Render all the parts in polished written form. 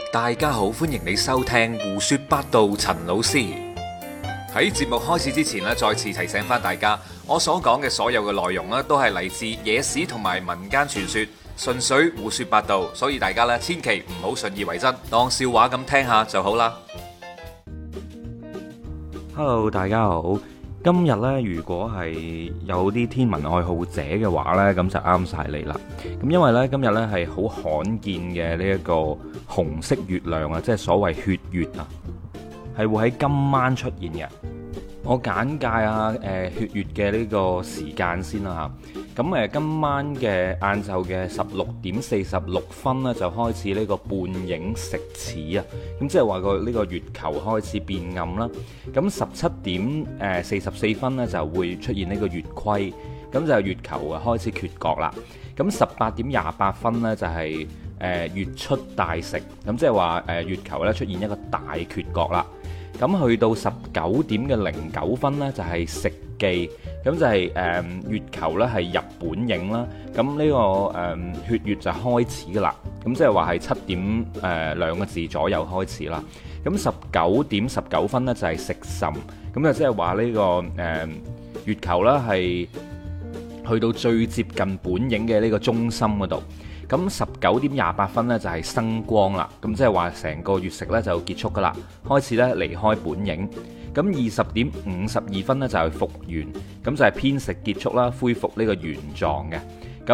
大家好，歡迎你收聽胡說八道。陳老師喺節目開始之前咧，再次提醒翻大家，我所講嘅所有嘅內容咧，都係嚟自野史同埋民間傳說，純粹胡說八道，所以大家咧千祈唔好信以為真，當笑話咁聽下就好啦。 Hello， 大家好。今日呢，如果係有啲天文愛好者嘅話呢，咁就啱晒你啦。咁因為呢，今日呢係好罕見嘅呢一個紅色月亮啊，即係所謂血月啊，係會喺今晚出現嘅。我簡介下血月嘅呢個時間先啦嚇。咁今晚嘅晏晝嘅16:46呢，就開始呢個半影食始啊。咁即係話呢個月球開始變暗啦。咁17:44呢，就會出現呢個月虧，咁就月球啊開始缺角啦。咁18:28呢，就係月出大食，咁即係話月球咧出現一個大缺角啦。咁去到19:09呢，就係食記，咁就係月球咧係入本影啦。咁呢個血月就開始噶啦。咁即係話係7點2個字左右開始啦。咁19:19呢，就係食神，咁就即係話呢個月球咧係去到最接近本影嘅呢個中心嗰度。咁19:28呢，就係生光啦，咁即係話成個月食呢就結束噶啦，開始呢離開本影。咁20:52呢，就係復原，咁就係偏食結束啦，恢復呢個原狀嘅。咁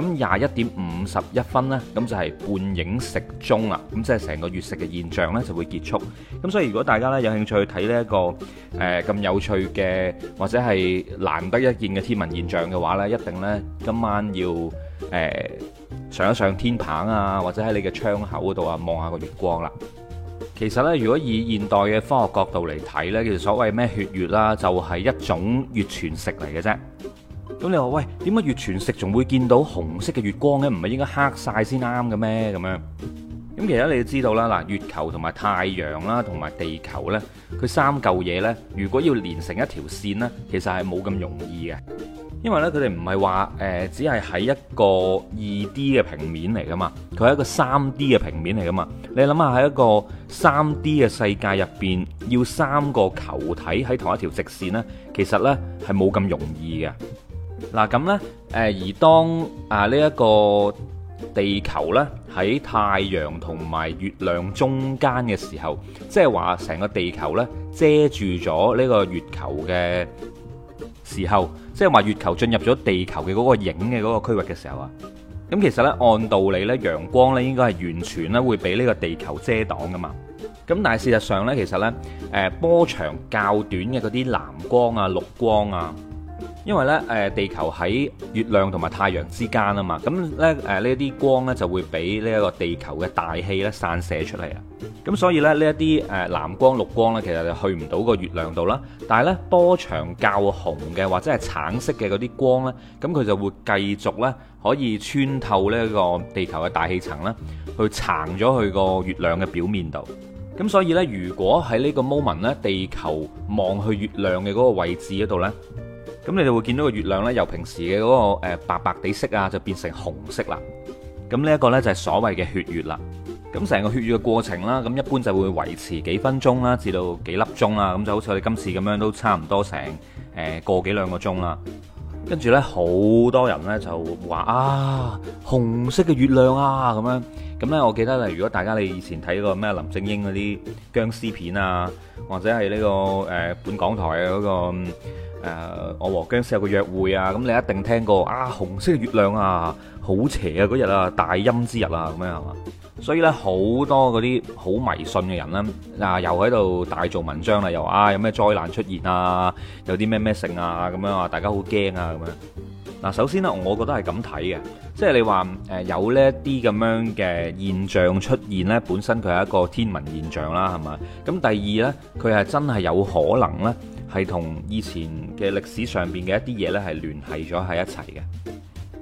21:51呢，咁就係半影食終啦，咁即係成個月食嘅現象呢就會結束。咁所以如果大家呢有興趣去睇呢一個咁有趣嘅或者係難得一見嘅天文現象嘅話呢，一定呢今晚要上一上天棚啊，或者喺你嘅窗口嗰度啊，望下個月光啦。其實呢，如果以現代嘅科學角度嚟睇呢，其實所謂咩血月啦，就係一種月全食嚟嘅啫。咁你話喂，點解月全食仲會見到紅色嘅月光呢？唔係應該黑晒先啱嘅咩？咁樣咁其實你要知道啦，嗱，月球同埋太陽啦，同埋地球呢，佢三嚿嘢呢，如果要連成一條線呢，其實係冇咁容易嘅。因為咧，佢哋唔係話只係喺一個2D 嘅平面嚟噶嘛，佢係一個3D 嘅平面嚟噶嘛。你諗下喺一個3D 嘅世界入邊，要3個球體喺同一條直線呢，其實呢係冇咁容易嘅。嗱咁呢，而當呢一個地球呢喺太陽同埋月亮中間嘅時候，即係話成個地球呢遮住咗呢個月球嘅時候，即係話月球進入咗地球嘅嗰個影嘅嗰個區域嘅時候啊，咁其實呢，按道理呢，陽光呢應該係完全呢會俾呢個地球遮擋噶嘛。咁但係事實上呢，其實呢，波長較短嘅嗰啲藍光啊、綠光啊，因為呢，地球喺月亮同埋太陽之間啊嘛，咁呢啲光呢就會俾呢一個地球嘅大氣呢散射出嚟啊。咁所以咧，呢一啲藍光、綠光呢，其實就去唔到個月亮度啦。但係呢，波長較紅嘅或者係橙色嘅嗰啲光呢，咁佢就會繼續呢可以穿透呢個地球嘅大氣層啦，去撐咗去個月亮嘅表面度。咁所以呢，如果喺呢個 moment 呢，地球望去月亮嘅嗰個位置嗰度呢，咁你就會見到個月亮呢，由平時嘅嗰個白白地色啊，就變成紅色啦。咁呢一個呢，就係所謂嘅血月啦。咁成個血月嘅過程啦，咁一般就會維持幾分鐘啦，至到幾粒鐘啦，咁就好似我哋今次咁樣，都差唔多成個幾兩個鐘啦。跟住呢，好多人呢就話啊，紅色嘅月亮啊咁樣。咁呢，我記得如果大家你以前睇過咩林正英嗰啲僵屍片啊，或者係呢個本港台嘅嗰個我和僵屍有個約會啊，咁你一定聽過啊，紅色嘅月亮啊，好邪啊嗰日啊，大陰之日啊咁樣係嘛？所以咧，好多嗰啲好迷信嘅人咧，又喺度大做文章啦，又話有咩災難出現啊，有啲咩性啊咁樣啊，大家好驚啊咁樣。嗱，首先呢，我覺得係咁睇嘅，即係你話有呢一啲咁樣嘅現象出現呢，本身佢係一個天文現象啦，係嘛？咁第二呢，佢係真係有可能呢，係同以前嘅歷史上邊嘅一啲嘢呢係聯繫咗喺一齊嘅。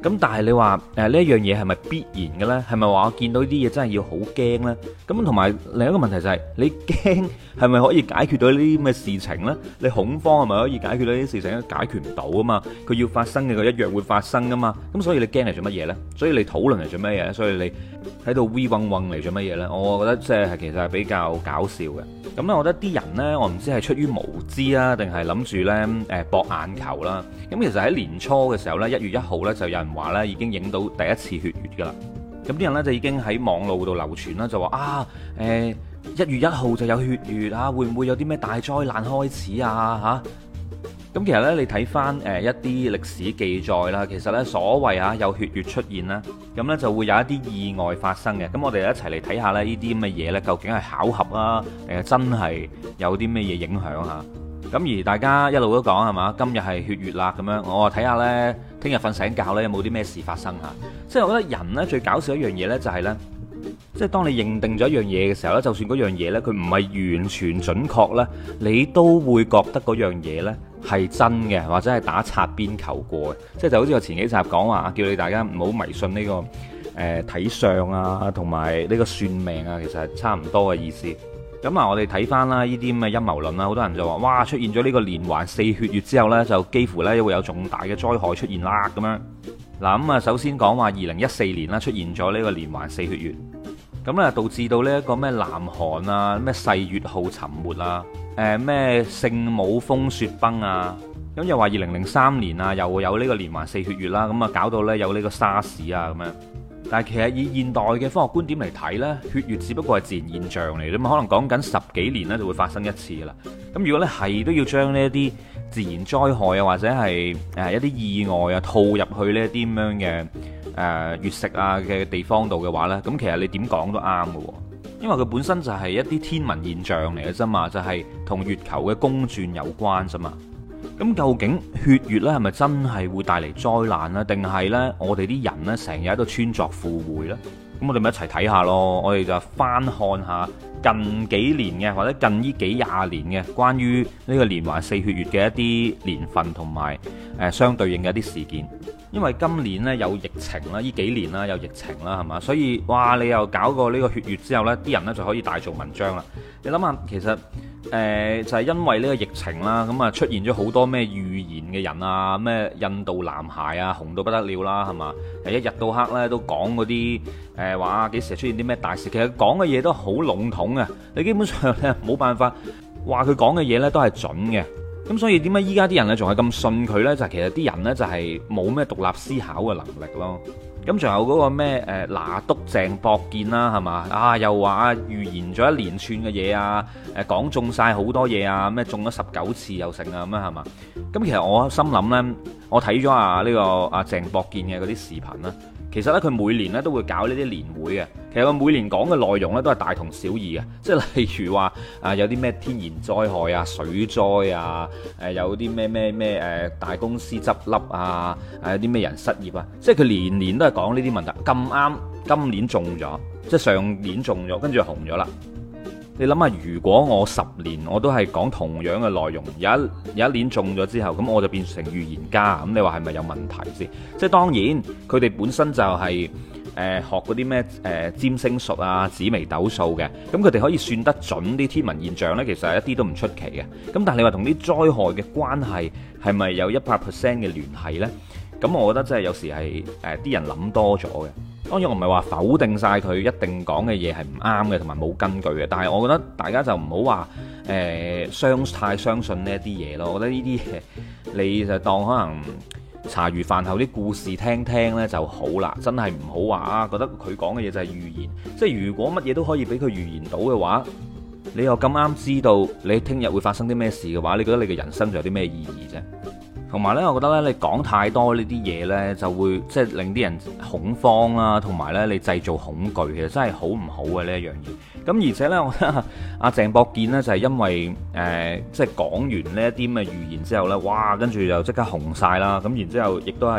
咁但係你話呢一樣嘢係咪必然嘅呢？係咪話我見到呢啲嘢真係要好驚呢？咁同埋另一個問題就係你驚係咪可以解決到呢啲咁嘅事情呢？你恐慌係咪可以解決到呢啲事情呢？解決唔到啊嘛！佢要發生嘅佢一樣會發生噶嘛。咁所以你驚嚟做乜嘢呢？所以你討論嚟做乜嘢呢？所以你喺度 we 嗡嗡嚟做乜嘢呢？我覺得即係其實係比較搞笑嘅。咁咧，我覺得啲人呢，我唔知係出於無知啊，定係諗住呢博眼球啦。咁其實喺年初嘅時候呢，1月1號呢，就有人話呢已經影到第一次血月噶啦。咁啲人呢，就已經喺網路度流傳啦，就話啊1月1號就有血月啊，會唔會有啲咩大災難開始啊嚇？咁其實呢，你睇翻一啲歷史記載啦，其實呢，所謂有血月出現啦，咁呢就會有一啲意外發生嘅。咁我哋一齊嚟睇下呢啲咁嘅嘢呢，究竟係巧合啊，定係真係有啲咩嘢影響嚇？咁而大家一路都講係嘛，今日係血月啦，咁樣我話睇下呢，聽日瞓醒覺呢，有冇啲咩事發生嚇？即係我覺得人呢，最搞笑一樣嘢呢，就係呢，即係當你認定咗一樣嘢嘅時候呢，就算嗰樣嘢呢，佢唔係完全準確呢，你都會覺得嗰樣嘢呢係真嘅，或者係打擦邊球過嘅。即係就好似我前幾集講話，叫你大家唔好迷信呢個睇相啊，同埋呢個算命啊，其實係差唔多嘅意思。咁啊，我哋睇翻啦，呢啲咁嘅陰謀論啦，好多人就話，哇，出現咗呢個連環4血月之後呢，就幾乎呢會有重大嘅災害出現啦，咁樣。嗱，咁啊，首先講話2014年啦，出現咗呢個連環4血月，咁咧導致到呢一個咩南韓啊，咩世越號沉沒啊，咩聖母峰雪崩啊，咁又話2003年啊，又有呢個連環4血月啦，咁啊搞到呢有呢個沙士啊咁樣。但係其實以現代嘅科學觀點嚟睇呢，血月只不過係自然現象嚟嘅嘛，可能講緊10幾年呢就會發生一次噶啦。咁如果咧係都要將呢一啲自然災害啊，或者係一啲意外啊套入去呢一啲咁樣嘅月食啊嘅地方度嘅話呢，咁其實你點講都啱嘅喎，因為佢本身就係一啲天文現象嚟嘅啫嘛，就係同月球嘅公轉有關啫嘛。咁究竟血月咧係咪真係會帶嚟災難呢？定係呢？我哋啲人呢，成日喺度穿鑿附會呢？咁我哋咪一齊睇下咯。我哋就翻看下近幾年嘅或者近呢幾廿年嘅關於呢個連環4血月嘅一啲年份同埋相對應嘅一啲事件。因為今年呢有疫情啦，呢幾年啦有疫情啦，係嘛？所以哇，你又搞過呢個血月之後呢，啲人呢就可以大做文章啦。你諗下，其實就係因為呢個疫情啦，咁啊出現咗好多咩預言嘅人啊，咩印度男孩啊紅到不得了啦，係嘛？一日到黑呢都講嗰啲話幾時出現啲咩大事，其實講嘅嘢都好籠統嘅，你基本上呢冇辦法話佢講嘅嘢呢都係準嘅。咁所以點解依家啲人呢仲係咁信佢呢？就係其實啲人呢就係冇咩獨立思考嘅能力咯。咁仲有嗰個咩拿督鄭博健啦，係嘛？啊又話預言咗一連串嘅嘢啊，講中晒好多嘢啊，咩中咗19次又成啊咁啊，係嘛？咁其實我心諗呢，我睇咗呢個鄭博健嘅嗰啲視頻啦。其實咧，佢每年咧都會搞呢啲年會嘅。其實佢每年講嘅內容咧都係大同小異嘅，即係例如話有啲咩天然災害啊、水災啊，有啲咩大公司執笠啊，有啲咩人失業啊，即係佢年年都係講呢啲問題。咁啱今年中咗，即係上年中咗，跟住就紅咗啦。你諗下，如果我10年我都係講同樣嘅內容，有一年中咗之後，咁我就變成預言家，咁你話係咪有問題先？即係當然，佢哋本身就係學嗰啲咩占星術啊、紫微斗數嘅，咁佢哋可以算得準啲天文現象呢，其實係一啲都唔出奇嘅。咁但係你話同啲災害嘅關係係咪有100% 嘅聯繫呢？咁我覺得真係有時係啲人諗多咗嘅。當然我唔係話否定晒佢一定講嘅嘢係唔啱嘅，同埋冇根據嘅。但係我覺得大家就唔好話太相信呢一啲嘢咯。我覺得呢啲嘢你就當可能茶餘飯後啲故事聽聽呢就好啦。真係唔好話覺得佢講嘅嘢就係預言。即係如果乜嘢都可以俾佢預言到嘅話，你又咁啱知道你聽日會發生啲咩事嘅話，你覺得你嘅人生仲有啲咩意義啫？同埋呢，我覺得呢，你講太多呢啲嘢呢，就會即係令啲人恐慌啦，同埋呢，你製造恐懼，其實真係好唔好嘅呢一樣嘢。咁而且呢，我覺得阿鄭博健呢，就係因為即係講完呢一啲咁嘅預言之後呢，哇，跟住就即刻紅晒啦。咁然之後亦都係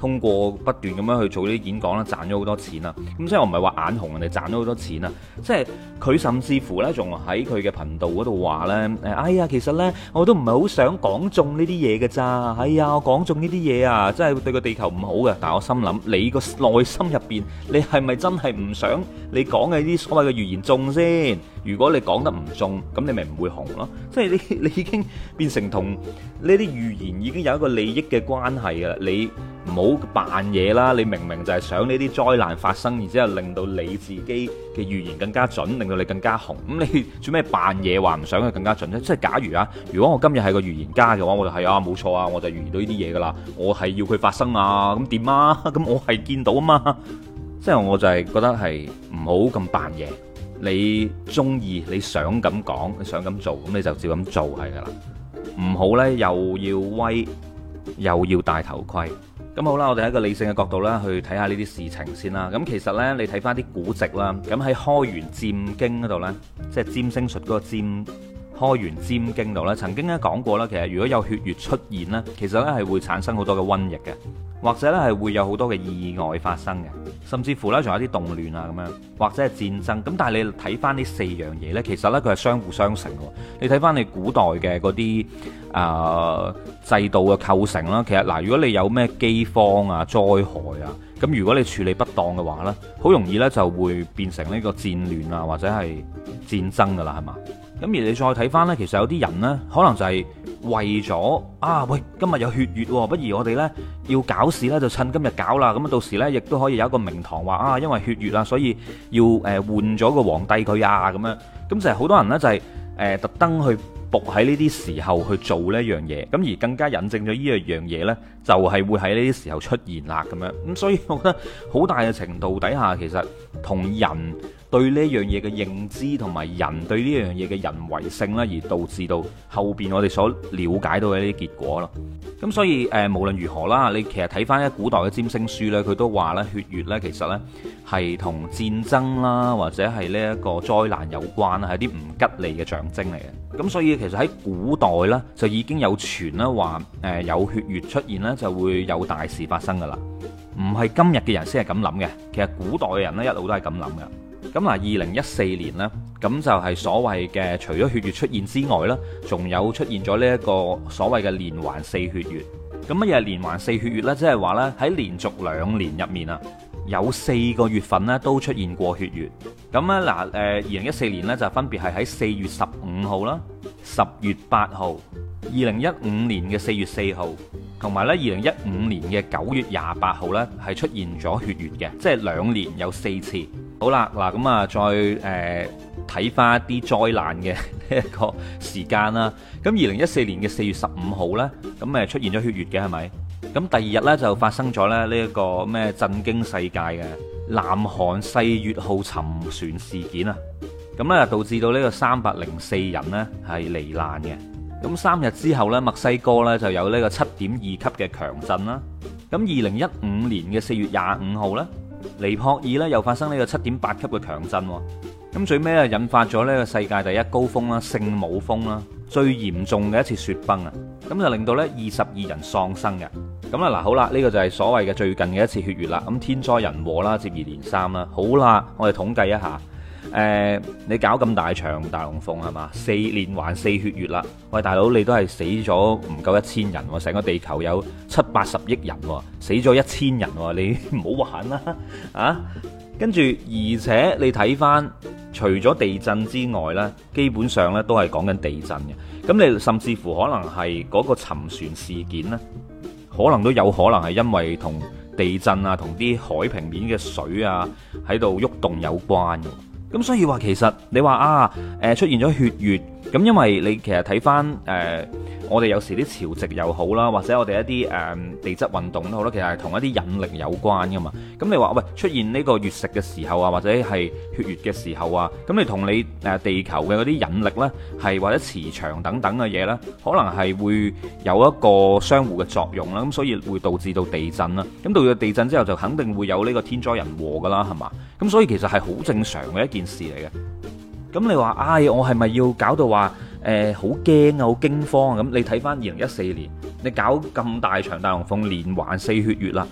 通過不斷咁樣去做呢啲演講啦，賺咗好多錢啊。咁即係我唔係話眼紅人哋賺咗好多錢啊，即係佢甚至乎呢，仲喺佢嘅頻道嗰度話呢：「哎呀，其實呢，我都唔係好想講中呢啲嘢嘅咋，哎呀，我講中呢啲嘢啊，真係對個地球唔好嘅。」但係我心諗，你個內心入邊，你係咪真係唔想你講嘅啲所謂嘅預言中先？如果你講得唔中，咁你咪唔會紅咯。即係你已經變成同呢啲預言已經有一個利益嘅關係㗎啦。你唔好扮嘢啦，你明明就係想呢啲災難發生，然之後令到你自己嘅預言更加準，令到你更加紅。咁你做咩扮嘢話唔想佢更加準啫？即係假如啊，如果我今日係個預言家嘅話，我就係啊冇錯啊，我就預言到呢啲嘢噶啦，我係要佢發生啊，咁點啊？咁我係見到啊嘛。即係我就係覺得係唔好咁扮嘢。你中意你想咁講，你想咁做，咁你就照咁做係噶啦。唔好呢，又要威，又要戴頭盔。咁好啦，我哋喺一個理性嘅角度啦，去睇下呢啲事情先啦。咁其實呢，你睇翻啲古籍啦，咁喺開元占經嗰度呢，即係占星術嗰個占開元占經度呢，曾經咧講過啦，其實如果有血月出現呢，其實呢係會產生好多嘅瘟疫嘅，或者呢係會有好多嘅意外發生嘅，甚至乎呢仲有啲動亂啊咁樣，或者係戰爭。咁但係你睇翻呢四樣嘢呢，其實呢，佢係相互相成嘅。你睇翻你古代嘅嗰啲制度嘅構成啦，其實嗱，如果你有咩饑荒啊、災害啊，咁如果你處理不當嘅話呢，好容易呢就會變成呢個戰亂啊，或者係戰爭噶啦，係嘛？咁而你再睇翻呢，其實有啲人呢，可能就係為咗喂，今日有血月喎，不如我哋呢要搞事呢，就趁今日搞啦。咁到時呢，亦都可以有一個名堂話因為血月啊，所以要換咗個皇帝佢啊咁樣。咁就係好多人呢，就係特登去伏喺呢啲時候去做呢一樣嘢，咁而更加引證咗呢樣嘢呢，就係會喺呢啲時候出現啦咁樣。咁所以我覺得好大嘅程度底下，其實同人對呢樣嘢嘅認知同埋人對呢樣嘢嘅人為性啦，而導致到後邊我哋所了解到嘅呢啲結果咯。咁所以無論如何啦，你其實睇翻一古代嘅占星書呢，佢都話咧血月呢，其實呢係同戰爭啦，或者係呢一個災難有關啦，係啲唔吉利嘅象徵嚟嘅。咁所以其實喺古代呢，就已經有傳啦，話有血月出現呢，就會有大事發生噶啦。唔係今日嘅人先係咁諗嘅，其實古代嘅人呢，一路都係咁諗嘅。咁嗱，2014年呢，咁就係所謂嘅除咗血月出現之外呢，仲有出現咗呢一個所謂嘅連環四血月。咁乜嘢係連環四血月呢？即係話呢，喺連續2年入面啊，有4個月份呢都出現過血月。咁咧嗱，2014年呢，就分別係喺4月15號啦、10月8號、2015年嘅4月4號，同埋咧2015年嘅9月28號呢，係出現咗血月嘅，即係2年有4次。好啦，嗱咁啊，再睇翻一啲災難嘅呢一個時間啦。咁2014年嘅4月15號呢，咁出現咗血月嘅係咪？咁第二日呢，就發生咗咧呢一個咩震驚世界嘅南韓世越號沉船事件啊！咁呢，導致到呢個304人呢係罹難嘅。咁3日之後呢，墨西哥呢就有呢個7.2級嘅強震啦。咁2015年嘅4月25號呢，尼泊爾呢又發生呢個7.8級嘅強震。咁最尾啊，引發咗呢個世界第一高峰啦，聖母峰啦，最嚴重嘅一次雪崩啊！咁就令到呢22人喪生嘅。咁啦，嗱好啦，呢個就係所謂嘅最近嘅一次血月啦。咁天災人禍啦，接二連三啦。好啦，我哋統計一下，你搞咁大場大龍鳳係嘛？4連環4血月啦。喂，大佬你都係死咗唔夠1000人喎，成個地球有780億人喎，死咗1000人喎，你唔好玩啦啊！跟住，而且你睇翻，除咗地震之外呢，基本上呢都係講緊地震嘅。咁你甚至乎可能係嗰個沉船事件呢，可能都有可能係因為同地震啊、同啲海平面嘅水啊喺度喐動有關嘅。咁所以話其實你話出現咗血月，咁因為你其實睇翻我哋有時啲潮汐又好啦，或者我哋一啲地質運動都好啦，其實係同一啲引力有關噶嘛。咁你話喂，出現呢個月食嘅時候啊，或者係血月嘅時候啊，咁你同你地球嘅嗰啲引力呢，係或者磁場等等嘅嘢呢，可能係會有一個相互嘅作用啦。咁所以會導致到地震啦。咁到咗地震之後，就肯定會有呢個天災人禍噶啦，係嘛？咁所以其實係好正常嘅一件事嚟嘅。咁你話我係咪要搞到話好驚啊、好驚慌啊？咁你睇翻2014年，你搞咁大場大龍鳳連環4血月啦，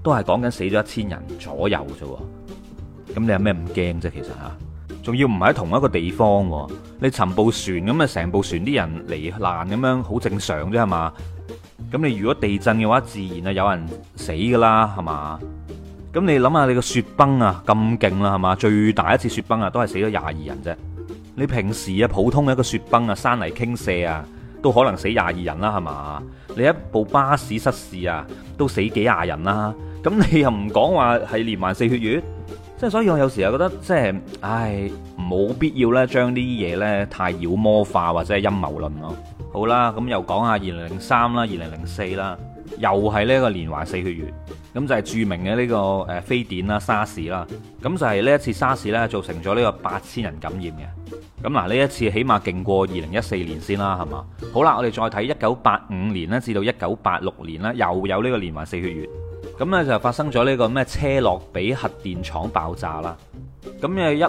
都係講緊死咗1000人左右啫。咁你有咩唔驚啫？其實嚇，仲要唔係喺同一個地方喎。你沉部船咁啊，成部船啲人罹難咁樣，好正常啫係嘛？咁你如果地震嘅話，自然係有人死噶啦，係嘛？咁你諗下你個雪崩啊咁勁啦，係嘛？最大一次雪崩啊，都係死咗22人啫。你平時啊普通嘅一個雪崩啊，山泥傾瀉啊，都可能死22人啦，係嘛？你一部巴士失事啊，都死幾廿人啦。咁你又唔講話係連環4血月？即係所以我有時又覺得即係，冇必要咧將呢啲嘢咧太妖魔化或者係陰謀論咯。好啦，咁又講下2003啦、2004啦，又係呢個連環4血月。咁就係著名嘅呢個非典啦、沙士啦。咁就係呢一次沙士咧造成咗呢個8000人感染嘅。咁嗱，呢一次起碼勁過2014年先啦，係嘛？好啦，我哋再睇1985年咧至到1986年咧，又有呢個連環4血月。咁咧就發生咗呢個咩車諾比核電廠爆炸啦。咁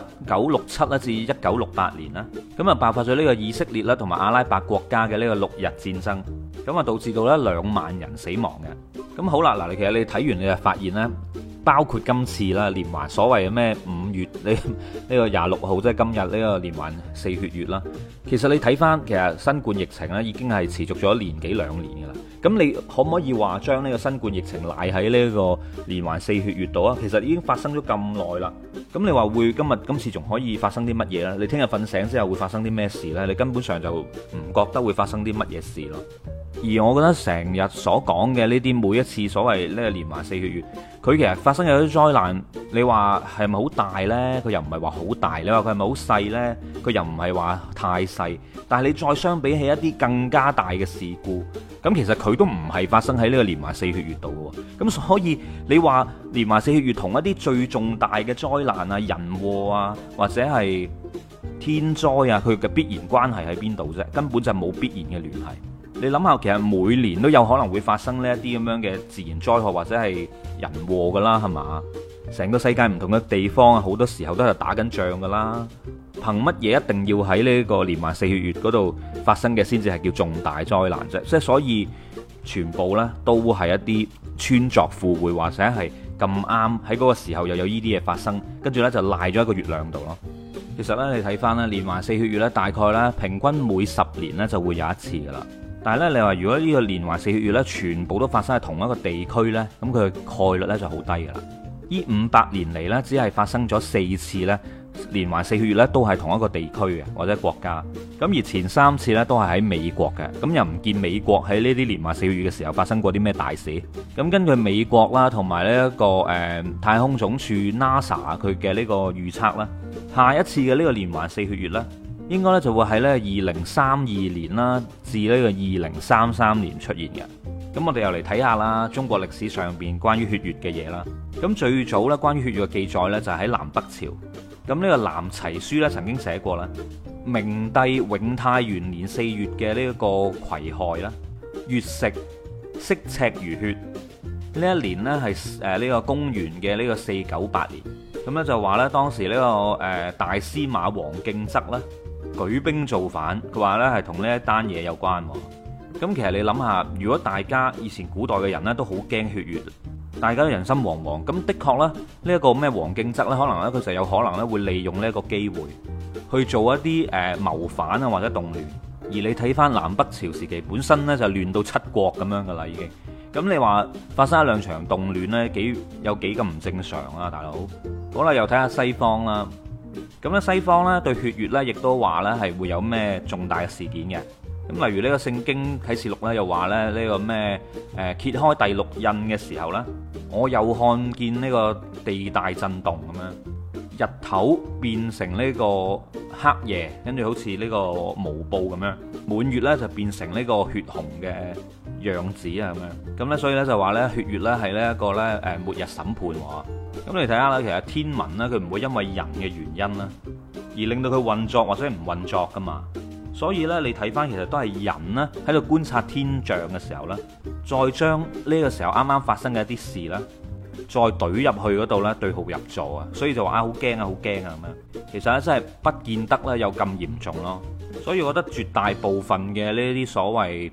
1967咧至1968年啦，咁啊爆發咗呢個以色列啦同埋阿拉伯國家嘅呢個6日戰爭，咁啊導致到咧2萬人死亡嘅。咁好啦，嗱，其實你睇完你就發現咧，包括今次啦連環所謂嘅咩5月呢個26號，即係今日呢個連環4血月啦。其實你睇翻，其實新冠疫情咧已經係持續咗1年幾2年噶啦。咁你可唔可以話將呢個新冠疫情賴喺呢個連環4血月度啊？其實已經發生咗咁耐啦。咁你話會今次仲可以發生啲乜嘢呢？你聽日瞓醒之後會發生啲咩事呢？你根本上就唔覺得會發生啲乜嘢事咯。而我覺得成日所講嘅呢啲每一次所謂呢個連環4血月，佢其實發生有啲災難，你話係咪好大呢？佢又唔係話好大。你話佢係咪好細呢？佢又唔係話太細。但係你再相比起一啲更加大嘅事故，咁其實佢都唔係發生喺呢個連環4血月度嘅。咁所以你話連環4血月同一啲最重大嘅災難啊、人禍啊，或者係天災啊，佢嘅必然關係喺邊度啫？根本就冇必然嘅聯繫。你諗下，其實每年都有可能會發生呢一啲咁樣嘅自然災害或者係人禍噶啦，係嘛？成個世界唔同嘅地方啊，好多時候都係打緊仗噶啦。憑乜嘢一定要喺呢個連環4血月嗰度發生嘅先至係叫重大災難啫？即係所以全部呢都係一啲穿鑿附會，或者係咁啱喺嗰個時候又有呢啲嘢發生，跟住呢就賴咗一個月亮度咯。其實呢，你睇翻咧連環4血月呢，大概呢平均每10年呢就會有一次噶啦。但係咧，你話如果呢個連環4血月呢全部都發生喺同一個地區呢，咁佢嘅概率呢就好低噶啦。呢500年嚟呢，只係發生咗4次呢連環4血月呢都係同一個地區嘅或者國家。咁而前3次呢都係喺美國嘅。咁又唔見美國喺呢啲連環4血月嘅時候發生過啲咩大事。咁根據美國啦同埋呢一個太空總署 NASA 佢嘅呢個預測啦，下一次嘅呢個連環4血月呢，應該咧就會喺咧2032年啦至呢個2033年出現嘅。咁我哋又嚟睇下啦，中國歷史上邊關於血月嘅嘢啦。咁最早咧關於血月嘅記載咧就係喺南北朝。咁呢個南齊書咧曾經寫過啦，明帝永泰元年4月嘅呢一個癸亥啦，月食色赤如血。呢一年呢係呢個公元嘅呢個498年。咁咧就話咧當時呢個大司馬王敬則咧舉兵造反，佢話呢係同呢一單嘢有關。咁其實你諗下，如果大家以前古代嘅人呢都好驚血月，大家都人心惶惶，咁的確呢，呢一個咩王敬則呢，可能呢，佢就有可能呢會利用呢一個機會去做一啲謀反啊或者動亂。而你睇翻南北朝時期本身呢，就亂到七國咁樣噶啦已經。咁你話發生一兩場動亂呢，有幾咁唔正常啊大佬？好啦，又睇下西方啦。咁咧西方咧對血月咧，亦都話咧係會有咩重大嘅事件嘅。咁例如呢個聖經啟示錄咧，又話咧呢個咩揭開第6印嘅時候咧，我又看見呢個地大震動咁樣，日頭變成呢個黑夜，跟住好似呢個毛布咁樣，滿月咧就變成呢個血紅嘅樣子啊咁樣。咁咧所以咧就話咧血月咧係呢一個咧末日審判喎。咁你睇下啦，其實天文咧佢唔會因為人嘅原因啦，而令到佢運作或者唔運作噶嘛。所以咧你睇翻其實都係人呢喺度觀察天象嘅時候咧，再將呢個時候啱啱發生嘅一啲事咧，再懟入去嗰度咧對號入座啊。所以就話好驚啊好驚啊咁樣。其實咧真係不見得咧有咁嚴重咯。所以我覺得絕大部分嘅呢啲所謂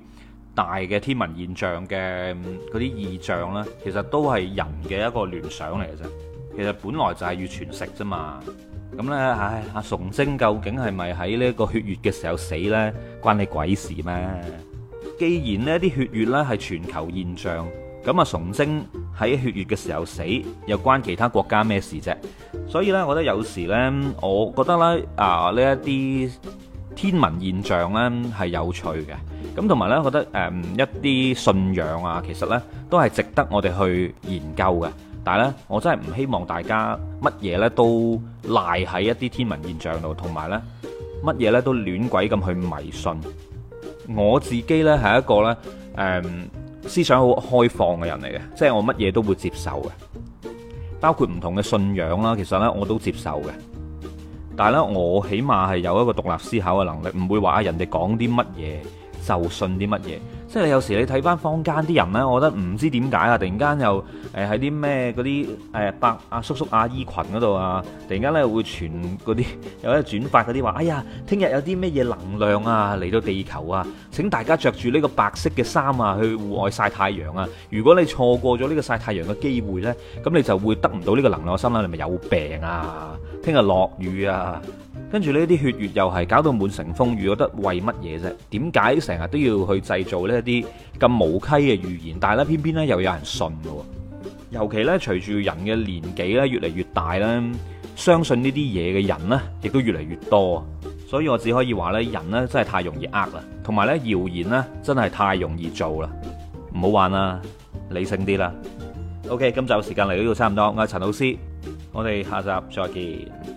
大嘅天文現象嘅嗰啲異象呢，其實都係人嘅一個聯想嚟嘅啫。其實本來就係要全食啫嘛。咁呢，唉，阿崇禎究竟係咪喺呢個血月嘅時候死呢？關你鬼事咩？既然呢啲血月呢係全球現象，咁啊崇禎喺血月嘅時候死，又關其他國家咩事啫？所以呢，我覺得有時呢，我覺得咧呢一啲天文現象呢係有趣嘅。咁同埋呢，我覺得一啲信仰啊，其實呢都係值得我哋去研究嘅。但係咧，我真係唔希望大家乜嘢咧都賴喺一啲天文現象度，同埋咧乜嘢咧都亂鬼咁去迷信。我自己咧係一個咧思想好開放嘅人嚟嘅，即係我乜嘢都會接受嘅，包括唔同嘅信仰啦。其實咧我都接受嘅，但係咧我起碼係有一個獨立思考嘅能力，唔會話人哋講啲乜嘢就信啲乜嘢。即係有時你睇翻坊間啲人呢，我覺得唔知點解啊，突然間又喺啲咩嗰啲伯阿叔叔阿姨群嗰度啊，突然間咧會傳嗰啲有啲轉發嗰啲話，哎呀，聽日有啲咩嘢能量啊嚟到地球啊，請大家着住呢個白色嘅衫啊去戶外曬太陽啊。如果你錯過咗呢個曬太陽嘅機會呢，咁你就會得唔到呢個能量。我心諗你咪有病啊！聽日落雨啊！跟住呢啲血月又係搞到滿城風雨，覺得為乜嘢啫？點解成日都要去製造呢啲咁無稽嘅預言？但係咧，偏偏咧又有人信喎。尤其咧，隨住人嘅年紀咧越嚟越大咧，相信呢啲嘢嘅人呢亦都越嚟越多。所以我只可以話咧，人呢真係太容易呃啦，同埋咧謠言呢真係太容易做啦。唔好玩啦，理性啲啦。OK，今集時間嚟到呢度差唔多，我係陳老師，我哋下集再見。